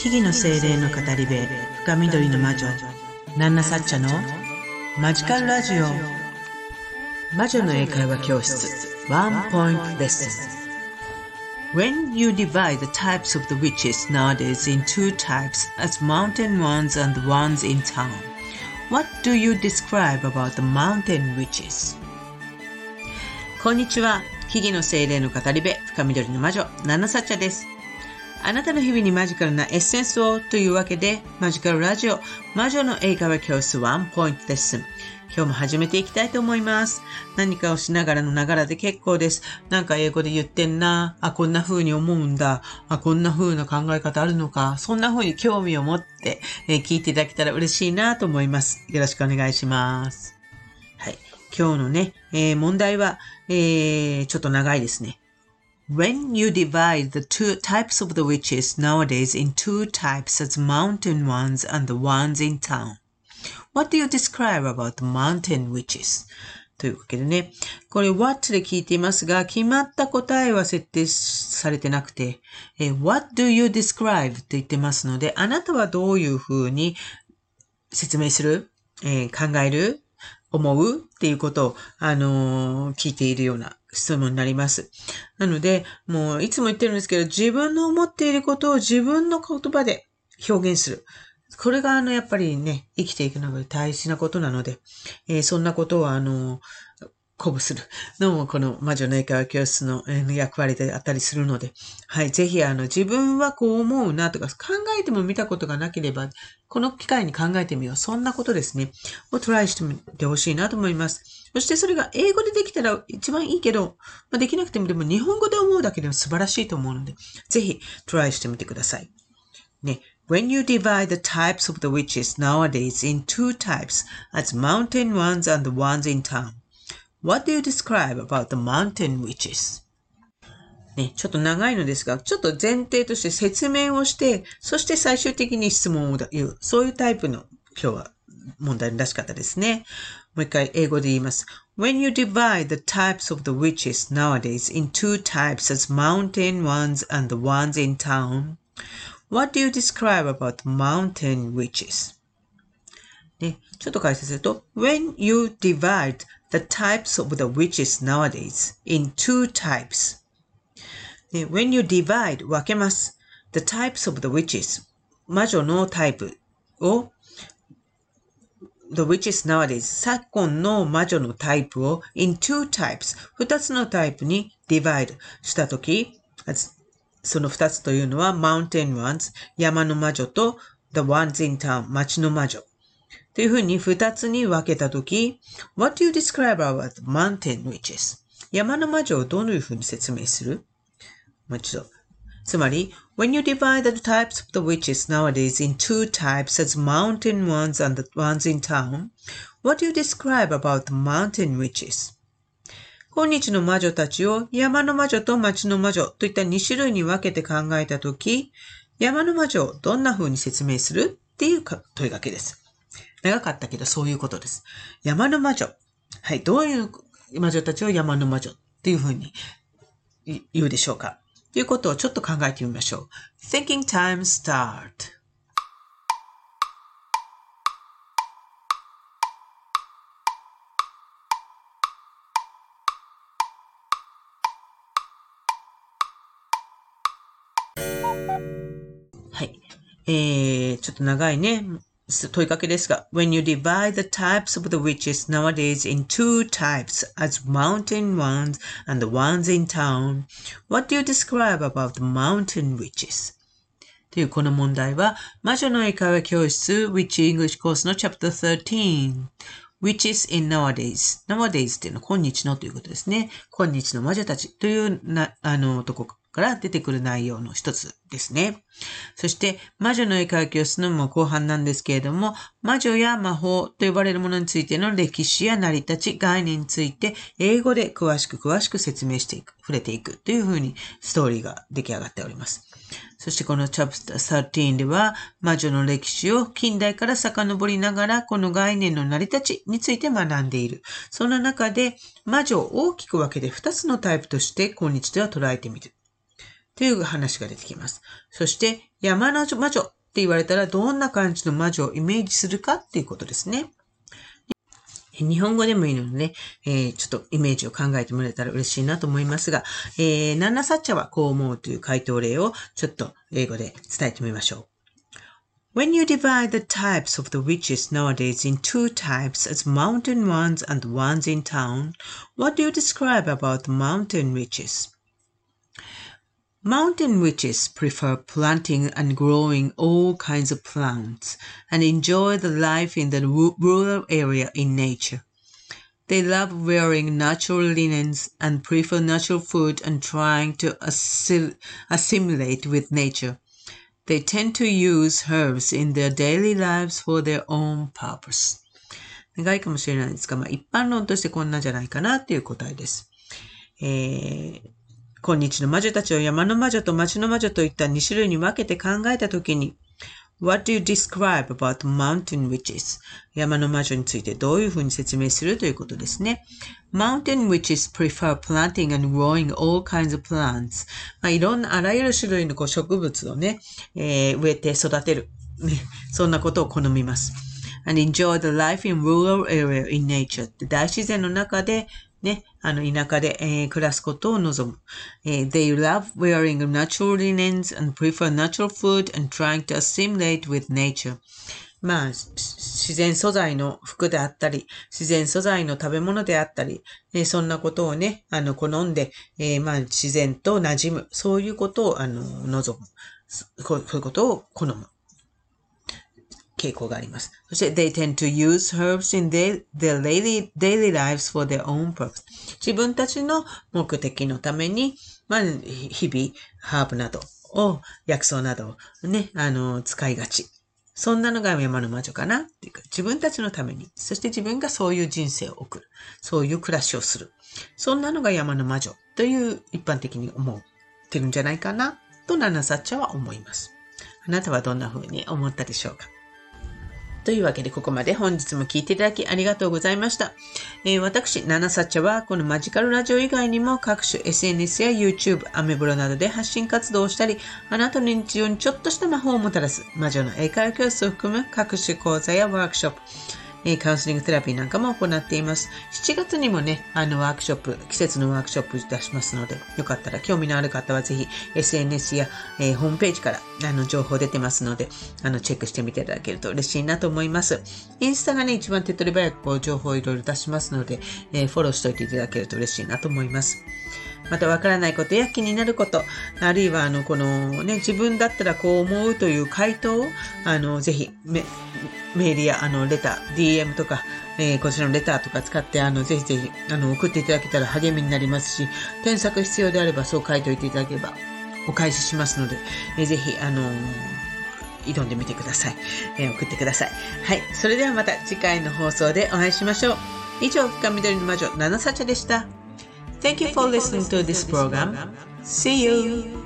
木々の精霊の語り部、深緑の魔女、ナンナサッチャのマジカルラジオ。魔女の英会話教室、ワンポイントレッスン。When you divide the types of the witches nowadays in two types, as mountain ones and the ones in town, what do you describe about the mountain witches? こんにちは。木々の精霊の語り部、深緑の魔女、ナンナサッチャです。あなたの日々にマジカルなエッセンスをというわけで、マジカルラジオ、魔女の英会話教室ワンポイントレッスン。今日も始めていきたいと思います。何かをしながらのながらで結構です。なんか英語で言ってんな。こんな風に思うんだ。こんな風な考え方あるのか。そんな風に興味を持って、聞いていただけたら嬉しいなと思います。よろしくお願いします。はい。今日のね、問題は、ちょっと長いですね。When you divide the two types of the witches nowadays in two types as mountain ones and the ones in town, what do you describe about the mountain witches? というわけでね、これ what で聞いていますが、決まった答えは設定されてなくて、what do you describe と言ってますので、あなたはどういうふうに説明する、考える思うっていうことを、聞いているような質問になります。なので、もういつも言ってるんですけど、自分の思っていることを自分の言葉で表現する。これがやっぱりね、生きていくのが大事なことなので、そんなことを鼓舞するのもこの魔女の英会話教室の役割であったりするので、はい、ぜひ自分はこう思うなとか考えても見たことがなければ、この機会に考えてみよう。そんなことですね。をトライしてみてほしいなと思います。そしてそれが英語でできたら一番いいけど、できなくてもでも日本語で思うだけでも素晴らしいと思うので、ぜひトライしてみてください。ね。When you divide the types of the witches nowadays in two types, as mountain ones and the ones in town, what do you describe about the mountain witches? ね、ちょっと長いのですが、ちょっと前提として説明をして、そして最終的に質問を言う。そういうタイプの今日は問題らしかったですね。もう一回英語で言います。When you divide the types of the witches nowadays in two types as mountain ones and the ones in town, what do you describe about the mountain witches? ね、ちょっと解説すると、When you divide the types of the witches nowadays in two types, when you divide 分けます。the types of the witches 魔女のタイプを the witches nowadays 昨今の魔女のタイプを in two types 二つのタイプに divide したとき、その二つというのは mountain ones 山の魔女と the ones in town 町の魔女というふうに二つに分けたとき、what do you describe about the mountain witches? 山の魔女をどのいうふうに説明する？もう一度。つまり、when you divide the types of the witches nowadays in two types as mountain ones and the ones in town, what do you describe about the mountain witches? 今日の魔女たちを山の魔女と町の魔女といった2種類に分けて考えたとき、山の魔女をどんな風に説明するっていう問いかけです。長かったけどそういうことです。山の魔女。はい、どういう魔女たちを山の魔女っていう風に言うでしょうかということをちょっと考えてみましょう。Thinking time start. はい。ちょっと長いね。問いかけですが、When you divide the types of the witches nowadays in two types as mountain ones and the ones in town, what do you describe about the mountain witches? というこの問題は、魔女の英会話教室 Witch English コースの Chapter 13 Witches in Nowadays Nowadays っていうのは今日のということですね。今日の魔女たちというとこから出てくる内容の一つですね。そして、魔女の英会話教室の後半なんですけれども、魔女や魔法と呼ばれるものについての歴史や成り立ち、概念について、英語で詳しく説明していく、触れていくというふうにストーリーが出来上がっております。そしてこの Chapter 13では、魔女の歴史を近代から遡りながら、この概念の成り立ちについて学んでいる。その中で、魔女を大きく分けて2つのタイプとして、今日では捉えてみる。 という話が出てきます。そして、山の魔女って言われたらどんな感じの魔女をイメージするかっていうことですね。日本語でもいいのでね、ちょっとイメージを考えてもらえたら嬉しいなと思いますが、ナンナサッチャはこう思うという回答例をちょっと英語で伝えてみましょう。When you divide the types of the witches nowadays in two types as mountain ones and ones in town, what do you describe about the mountain witches?Mountain witches prefer planting and growing all kinds of plants and enjoy the life in the rural area in nature. They love wearing natural linens and prefer natural food and trying to assimilate with nature. They tend to use herbs in their daily lives for their own purpose. 長いかもしれないですが、一般論としてこんなんじゃないかなという答えです。今日の魔女たちを山の魔女と町の魔女といった2種類に分けて考えたときに、What do you describe about mountain witches? 山の魔女についてどういうふうに説明するということですね。Mountain witches prefer planting and growing all kinds of plants. いろんなあらゆる種類の植物をね、植えて育てる、ね。そんなことを好みます。And enjoy the life in rural area in nature. 大自然の中でね、田舎で、暮らすことを望む。They love wearing natural linens and prefer natural food and trying to assimilate with nature. 自然素材の服であったり、自然素材の食べ物であったり、そんなことをね、好んで、自然と馴染む。そういうことを、望む。こういうことを好む。傾向があります。そして、they tend to use herbs in their daily lives for their own purpose. 自分たちの目的のために、日々、ハーブなどを、薬草などをね、使いがち。そんなのが山の魔女かなっていうか、自分たちのために、そして自分がそういう人生を送る。そういう暮らしをする。そんなのが山の魔女という一般的に思ってるんじゃないかなとナナサッチャは思います。あなたはどんな風に思ったでしょうか？というわけでここまで本日も聞いていただきありがとうございました。私、ナナサッチャはこのマジカルラジオ以外にも各種 SNS や YouTube、アメブロなどで発信活動をしたり、あなたの日常にちょっとした魔法をもたらす魔女の英会話教室を含む各種講座やワークショップ、カウンセリングテラピーなんかも行っています。7月にもね、ワークショップ、季節のワークショップ出しますので、よかったら興味のある方はぜひ SNS や、ホームページから情報出てますので、チェックしてみていただけると嬉しいなと思います。インスタがね、一番手っ取り早く情報をいろいろ出しますので、フォローしておいていただけると嬉しいなと思います。またわからないことや気になること、あるいはこのね、自分だったらこう思うという回答を、ぜひメールやレター、DM とか、こちらのレターとか使って、ぜひぜひ、送っていただけたら励みになりますし、添削必要であればそう書いておいていただければお返ししますので、ぜひ、挑んでみてください。送ってください。はい。それではまた次回の放送でお会いしましょう。以上、深緑の魔女、ナナサチャでした。Thank you for listening to this program. See you!